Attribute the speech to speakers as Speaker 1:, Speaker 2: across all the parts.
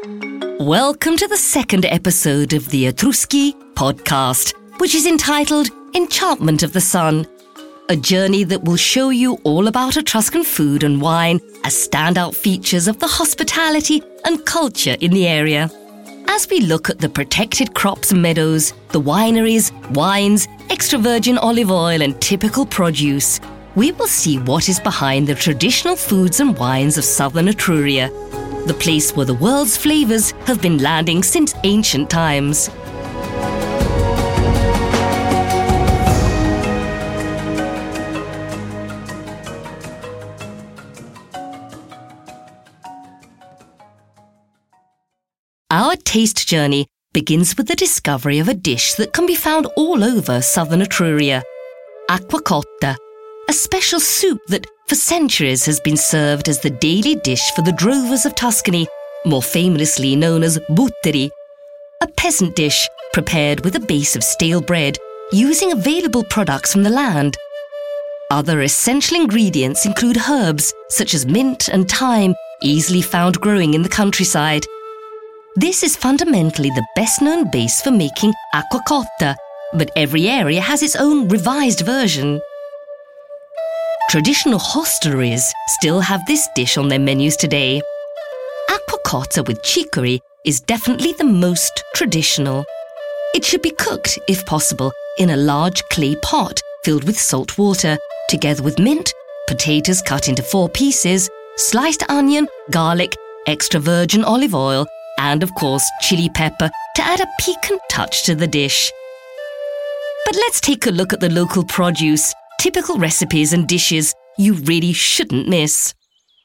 Speaker 1: Welcome to the second episode of the Etruschi podcast, which is entitled Enchantment of the Sun, a journey that will show you all about Etruscan food and wine as standout features of the hospitality and culture in the area. As we look at the protected crops and meadows, the wineries, wines, extra virgin olive oil and typical produce, we will see what is behind the traditional foods and wines of southern Etruria, the place where the world's flavours have been landing since ancient times. Our taste journey begins with the discovery of a dish that can be found all over southern Etruria, acqua cotta, a special soup that for centuries has been served as the daily dish for the drovers of Tuscany, more famously known as butteri, a peasant dish prepared with a base of stale bread using available products from the land. Other essential ingredients include herbs such as mint and thyme, easily found growing in the countryside. This is fundamentally the best-known base for making acqua cotta, but every area has its own revised version. Traditional hostelries still have this dish on their menus today. Acqua cotta with chicory is definitely the most traditional. It should be cooked, if possible, in a large clay pot filled with salt water, together with mint, potatoes cut into 4 pieces, sliced onion, garlic, extra virgin olive oil, and of course chili pepper to add a piquant touch to the dish. But let's take a look at the local produce, typical recipes and dishes you really shouldn't miss.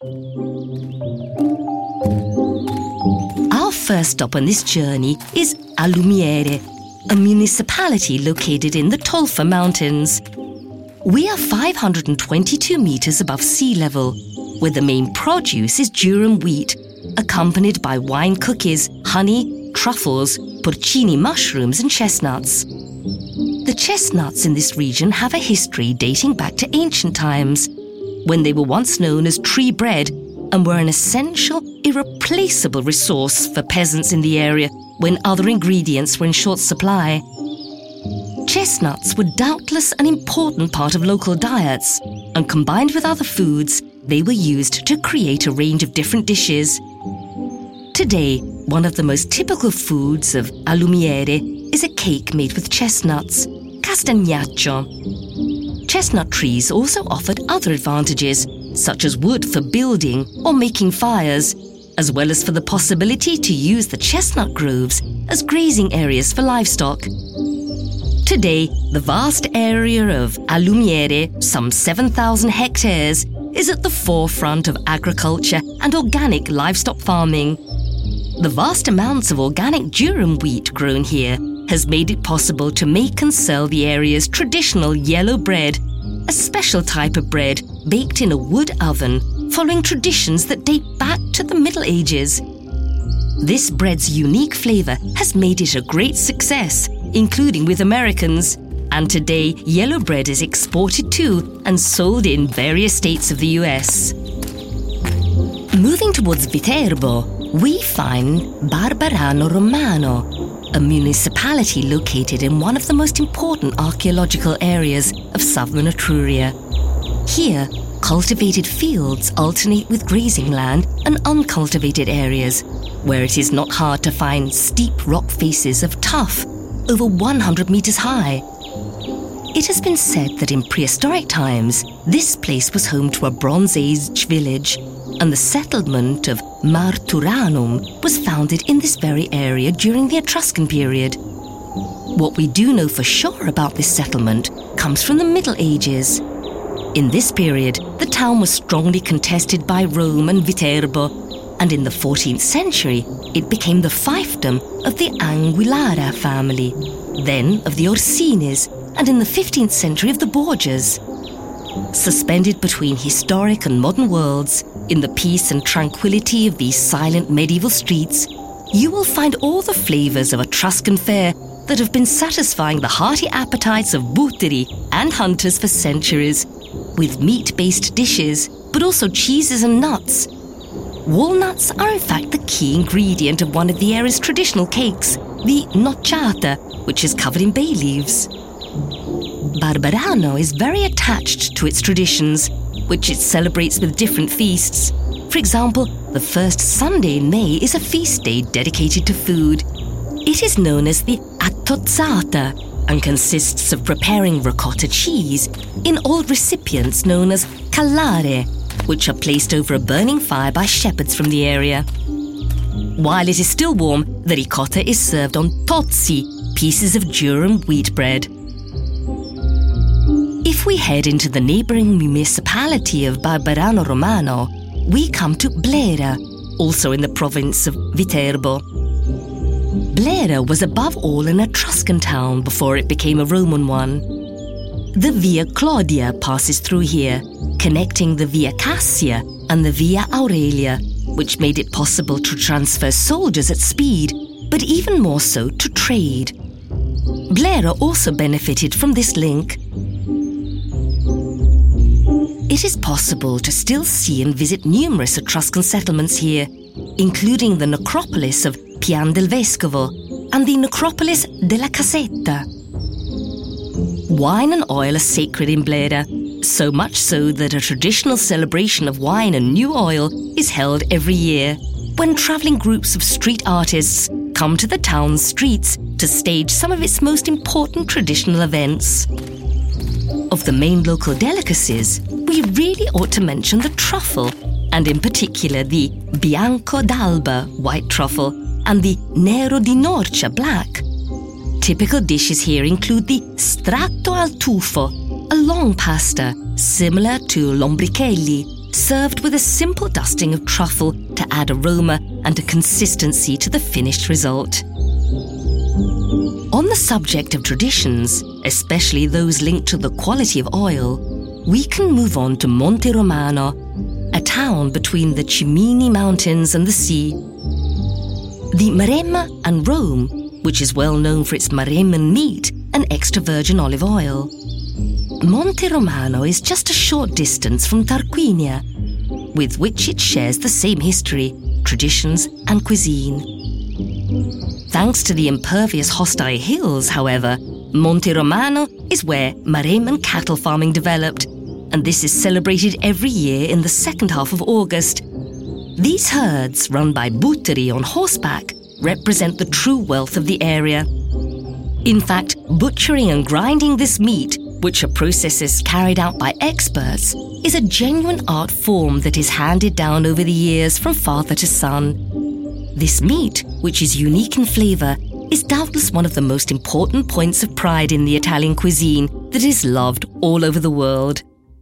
Speaker 1: Our first stop on this journey is Alumiere, a municipality located in the Tolfa Mountains. We are 522 metres above sea level, where the main produce is durum wheat, accompanied by wine cookies, honey, truffles, porcini mushrooms and chestnuts. The chestnuts in this region have a history dating back to ancient times, when they were once known as tree bread and were an essential, irreplaceable resource for peasants in the area when other ingredients were in short supply. Chestnuts were doubtless an important part of local diets, and combined with other foods, they were used to create a range of different dishes. Today, one of the most typical foods of Alumiere is a cake made with chestnuts, castagnaccio. Chestnut trees also offered other advantages, such as wood for building or making fires, as well as for the possibility to use the chestnut groves as grazing areas for livestock. Today, the vast area of Alumiere, some 7,000 hectares, is at the forefront of agriculture and organic livestock farming. The vast amounts of organic durum wheat grown here has made it possible to make and sell the area's traditional yellow bread, a special type of bread baked in a wood oven following traditions that date back to the Middle Ages. This bread's unique flavour has made it a great success, including with Americans, and today yellow bread is exported to and sold in various states of the US. Moving towards Viterbo, we find Barberano Romano, a municipality located in one of the most important archaeological areas of southern Etruria. Here, cultivated fields alternate with grazing land and uncultivated areas, where it is not hard to find steep rock faces of tuff, over 100 metres high. It has been said that in prehistoric times, this place was home to a Bronze Age village, and the settlement of Marturanum was founded in this very area during the Etruscan period. What we do know for sure about this settlement comes from the Middle Ages. In this period, the town was strongly contested by Rome and Viterbo, and in the 14th century, it became the fiefdom of the Anguillara family, then of the Orsines, and in the 15th century of the Borgias. Suspended between historic and modern worlds, in the peace and tranquility of these silent medieval streets, you will find all the flavours of Etruscan fare that have been satisfying the hearty appetites of butteri and hunters for centuries, with meat-based dishes, but also cheeses and nuts. Walnuts are in fact the key ingredient of one of the area's traditional cakes, the nocciata, which is covered in bay leaves. Barberano is very attached to its traditions, which it celebrates with different feasts. For example, the first Sunday in May is a feast day dedicated to food. It is known as the attozzata and consists of preparing ricotta cheese in old recipients known as callare, which are placed over a burning fire by shepherds from the area. While it is still warm, the ricotta is served on tozzi, pieces of durum wheat bread. If we head into the neighbouring municipality of Barberano Romano, we come to Blera, also in the province of Viterbo. Blera was above all an Etruscan town before it became a Roman one. The Via Claudia passes through here, connecting the Via Cassia and the Via Aurelia, which made it possible to transfer soldiers at speed, but even more so to trade. Blera also benefited from this link. It is possible to still see and visit numerous Etruscan settlements here, including the necropolis of Pian del Vescovo and the necropolis della Casetta. Wine and oil are sacred in Blera, so much so that a traditional celebration of wine and new oil is held every year, when travelling groups of street artists come to the town's streets to stage some of its most important traditional events. Of the main local delicacies, we really ought to mention the truffle, and in particular the Bianco d'Alba white truffle and the Nero di Norcia black. Typical dishes here include the stratto al tufo, a long pasta similar to lombrichelli, served with a simple dusting of truffle to add aroma and a consistency to the finished result. On the subject of traditions, especially those linked to the quality of oil, we can move on to Monte Romano, a town between the Cimini Mountains and the sea. The Maremma and Rome, which is well known for its Maremman meat and extra virgin olive oil. Monte Romano is just a short distance from Tarquinia, with which it shares the same history, traditions and cuisine. Thanks to the impervious hostile hills, however, Monte Romano is where Maremman cattle farming developed, and this is celebrated every year in the second half of August. These herds, run by butteri on horseback, represent the true wealth of the area. In fact, butchering and grinding this meat, which are processes carried out by experts, is a genuine art form that is handed down over the years from father to son. This meat, which is unique in flavour, is doubtless one of the most important points of pride in the Italian cuisine that is loved all over the world.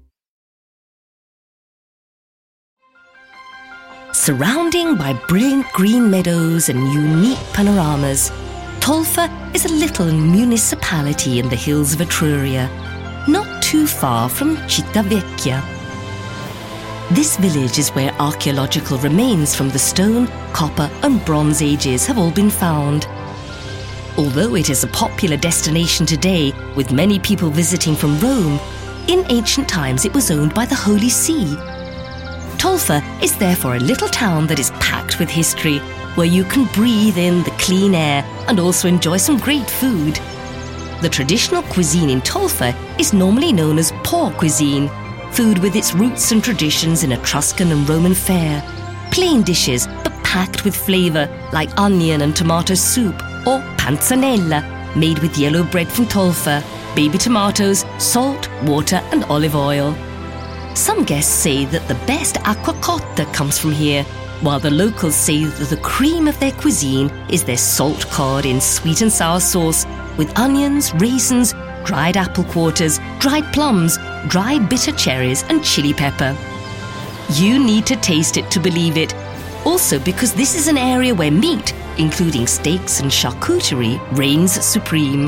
Speaker 1: Surrounding by brilliant green meadows and unique panoramas, Tolfa is a little municipality in the hills of Etruria, not too far from Città Vecchia. This village is where archaeological remains from the Stone, Copper and Bronze Ages have all been found. Although it is a popular destination today, with many people visiting from Rome, in ancient times it was owned by the Holy See. Tolfa is therefore a little town that is packed with history, where you can breathe in the clean air and also enjoy some great food. The traditional cuisine in Tolfa is normally known as poor cuisine, food with its roots and traditions in Etruscan and Roman fare, plain dishes but packed with flavour like onion and tomato soup, or panzanella, made with yellow bread from Tolfa, baby tomatoes, salt, water and olive oil. Some guests say that the best acqua cotta comes from here, while the locals say that the cream of their cuisine is their salt cod in sweet and sour sauce with onions, raisins, dried apple quarters, dried plums, dried bitter cherries and chili pepper. You need to taste it to believe it, also because this is an area where meat, including steaks and charcuterie, reigns supreme.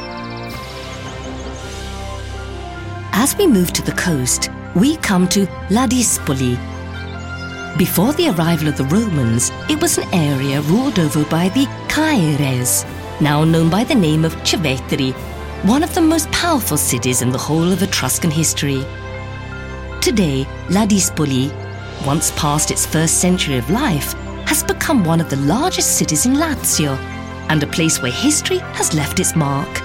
Speaker 1: As we move to the coast, we come to Ladispoli. Before the arrival of the Romans, it was an area ruled over by the Caeres, now known by the name of Civetri, one of the most powerful cities in the whole of Etruscan history. Today, Ladispoli, once past its first century of life, has become one of the largest cities in Lazio and a place where history has left its mark.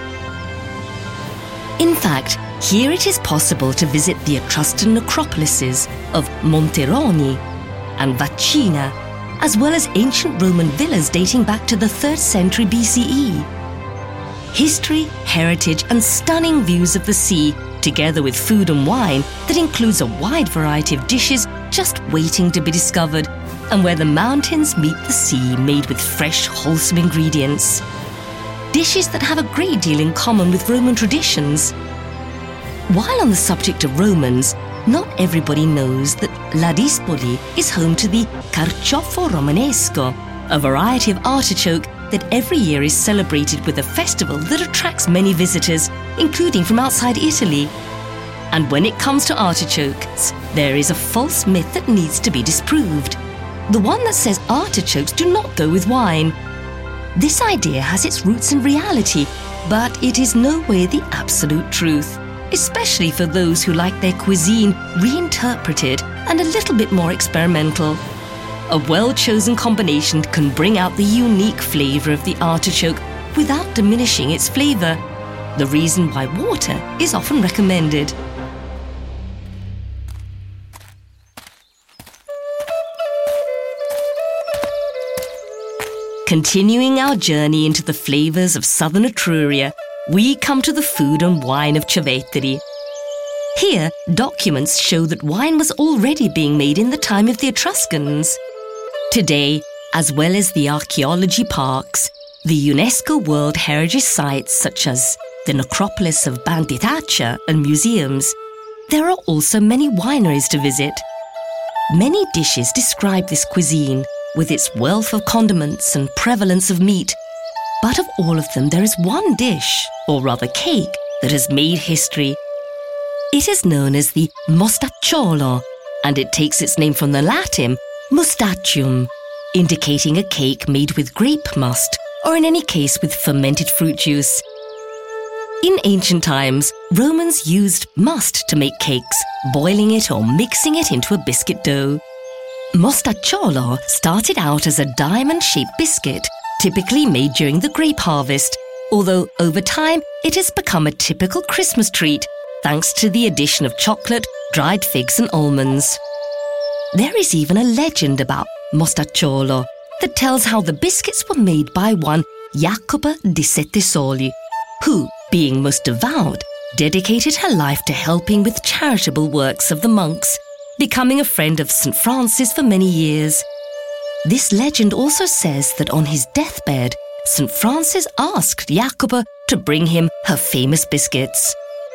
Speaker 1: In fact, here it is possible to visit the Etruscan necropolises of Monteroni and Vacina, as well as ancient Roman villas dating back to the 3rd century BCE. History, heritage and stunning views of the sea, together with food and wine that includes a wide variety of dishes just waiting to be discovered, and where the mountains meet the sea made with fresh, wholesome ingredients. Dishes that have a great deal in common with Roman traditions. While on the subject of Romans, not everybody knows that Ladispoli is home to the Carciofo Romanesco, a variety of artichoke that every year is celebrated with a festival that attracts many visitors, including from outside Italy. And when it comes to artichokes, there is a false myth that needs to be disproved. The one that says artichokes do not go with wine. This idea has its roots in reality, but it is no way the absolute truth, especially for those who like their cuisine reinterpreted and a little bit more experimental. A well-chosen combination can bring out the unique flavour of the artichoke without diminishing its flavour, the reason why water is often recommended. Continuing our journey into the flavours of southern Etruria, we come to the food and wine of Cerveteri. Here, documents show that wine was already being made in the time of the Etruscans. Today, as well as the archaeology parks, the UNESCO World Heritage Sites such as the necropolis of Banditacha and museums, there are also many wineries to visit. Many dishes describe this cuisine, with its wealth of condiments and prevalence of meat. But of all of them, there is one dish, or rather cake, that has made history. It is known as the mostacciolo, and it takes its name from the Latin mustachium, indicating a cake made with grape must, or in any case with fermented fruit juice. In ancient times, Romans used must to make cakes, boiling it or mixing it into a biscuit dough. Mostacciolo started out as a diamond-shaped biscuit, typically made during the grape harvest, although over time it has become a typical Christmas treat thanks to the addition of chocolate, dried figs and almonds. There is even a legend about Mostacciolo that tells how the biscuits were made by one Jacoba di Sette Soli, who, being most devout, dedicated her life to helping with charitable works of the monks, becoming a friend of St. Francis for many years. This legend also says that on his deathbed, St. Francis asked Jacoba to bring him her famous biscuits.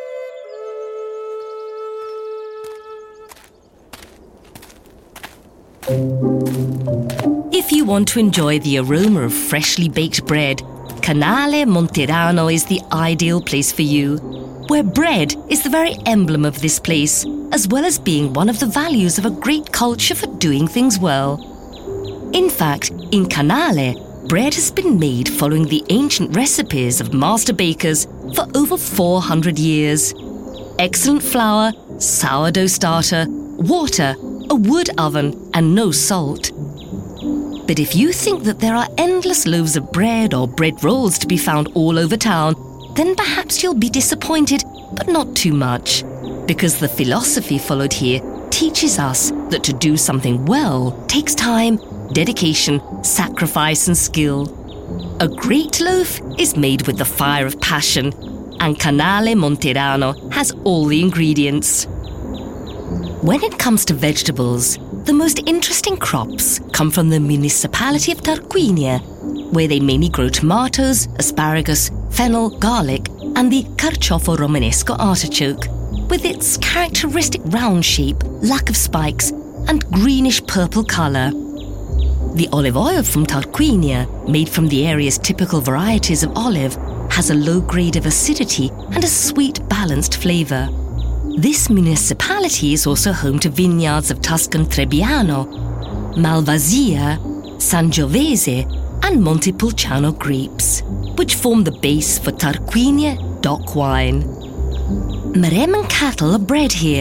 Speaker 1: If you want to enjoy the aroma of freshly baked bread, Canale Monterano is the ideal place for you, where bread is the very emblem of this place, as well as being one of the values of a great culture for doing things well. In fact, in Canale, bread has been made following the ancient recipes of master bakers for over 400 years. Excellent flour, sourdough starter, water, a wood oven, and no salt. But if you think that there are endless loaves of bread or bread rolls to be found all over town, then perhaps you'll be disappointed, but not too much, because the philosophy followed here teaches us that to do something well takes time, dedication, sacrifice and skill. A great loaf is made with the fire of passion, and Canale Monterano has all the ingredients. When it comes to vegetables, the most interesting crops come from the municipality of Tarquinia, where they mainly grow tomatoes, asparagus, fennel, garlic, and the Carciofo Romanesco artichoke, with its characteristic round shape, lack of spikes, and greenish-purple colour. The olive oil from Tarquinia, made from the area's typical varieties of olive, has a low grade of acidity and a sweet, balanced flavour. This municipality is also home to vineyards of Tuscan Trebbiano, Malvasia, Sangiovese, and Montepulciano grapes, which form the base for Tarquinia DOC wine. Maremma cattle are bred here,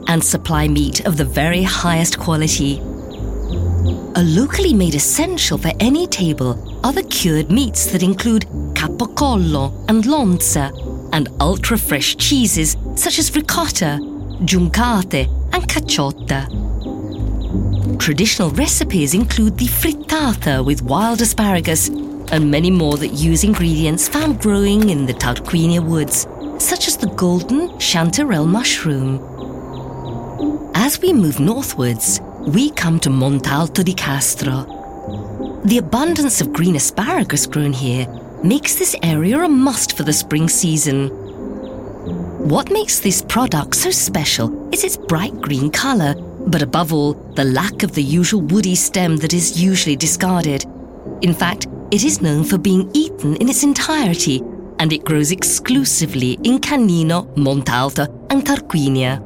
Speaker 1: and supply meat of the very highest quality. A locally made essential for any table are the cured meats that include capocollo and lonza, and ultra-fresh cheeses such as ricotta, giuncate and caciotta. Traditional recipes include the frittata with wild asparagus and many more that use ingredients found growing in the Tarquinia woods, such as the golden chanterelle mushroom. As we move northwards, we come to Montalto di Castro. The abundance of green asparagus grown here makes this area a must for the spring season. What makes this product so special is its bright green colour, but above all, the lack of the usual woody stem that is usually discarded. In fact, it is known for being eaten in its entirety, and it grows exclusively in Canino, Montalto and Tarquinia.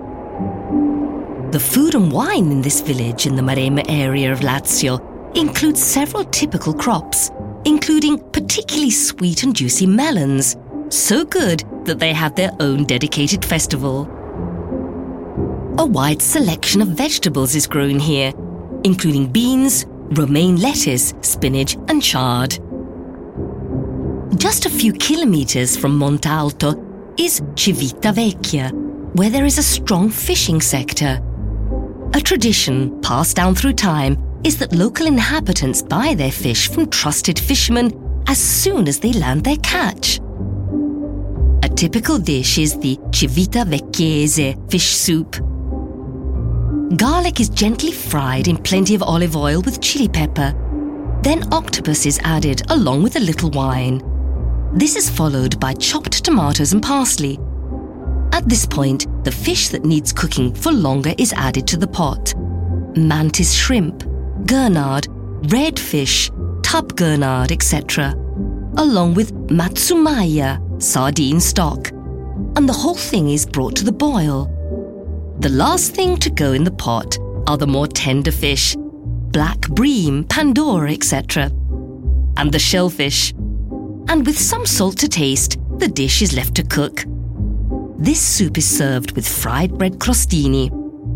Speaker 1: The food and wine in this village in the Maremma area of Lazio includes several typical crops, including particularly sweet and juicy melons, so good that they have their own dedicated festival. A wide selection of vegetables is grown here, including beans, romaine lettuce, spinach and chard. Just a few kilometres from Montalto is Civitavecchia, where there is a strong fishing sector. A tradition passed down through time is that local inhabitants buy their fish from trusted fishermen as soon as they land their catch. A typical dish is the Civitavecchiese fish soup. Garlic is gently fried in plenty of olive oil with chili pepper. Then octopus is added along with a little wine. This is followed by chopped tomatoes and parsley. At this point, the fish that needs cooking for longer is added to the pot. Mantis shrimp, gurnard, redfish, tub gurnard, etc., along with matsumaya, sardine stock, and the whole thing is brought to the boil. The last thing to go in the pot are the more tender fish, black bream, pandora, etc., and the shellfish. And with some salt to taste, the dish is left to cook. This soup is served with fried bread crostini.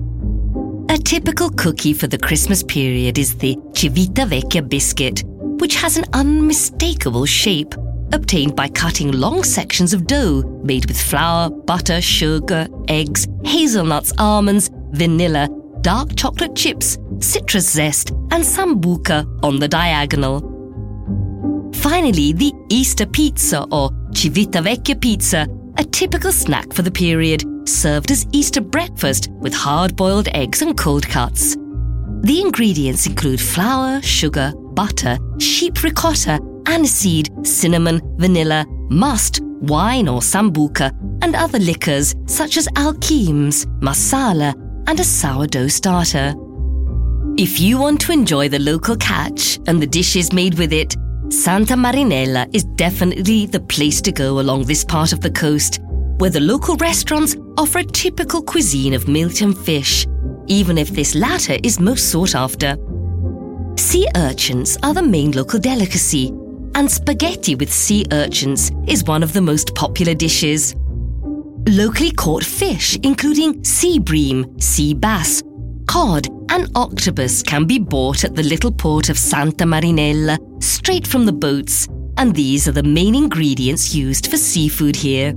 Speaker 1: A typical cookie for the Christmas period is the Civitavecchia biscuit, which has an unmistakable shape, obtained by cutting long sections of dough made with flour, butter, sugar, eggs, hazelnuts, almonds, vanilla, dark chocolate chips, citrus zest, and sambuca on the diagonal. Finally, the Easter pizza or Civitavecchia pizza, a typical snack for the period, served as Easter breakfast with hard-boiled eggs and cold cuts. The ingredients include flour, sugar, butter, sheep ricotta, aniseed, cinnamon, vanilla, must, wine or sambuca, and other liquors such as alchemes, masala, and a sourdough starter. If you want to enjoy the local catch and the dishes made with it, Santa Marinella is definitely the place to go along this part of the coast, where the local restaurants offer a typical cuisine of meat and fish, even if this latter is most sought after. Sea urchins are the main local delicacy, and spaghetti with sea urchins is one of the most popular dishes. Locally caught fish, including sea bream, sea bass, cod and octopus, can be bought at the little port of Santa Marinella straight from the boats, and these are the main ingredients used for seafood here.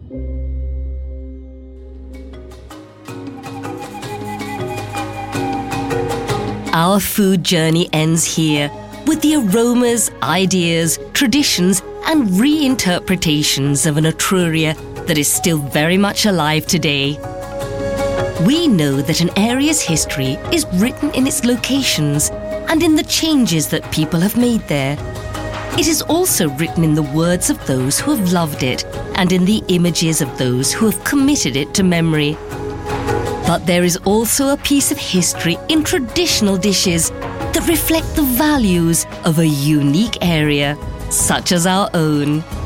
Speaker 1: Our food journey ends here, with the aromas, ideas, traditions and reinterpretations of an Etruria that is still very much alive today. We know that an area's history is written in its locations and in the changes that people have made there. It is also written in the words of those who have loved it and in the images of those who have committed it to memory. But there is also a piece of history in traditional dishes that reflect the values of a unique area, such as our own.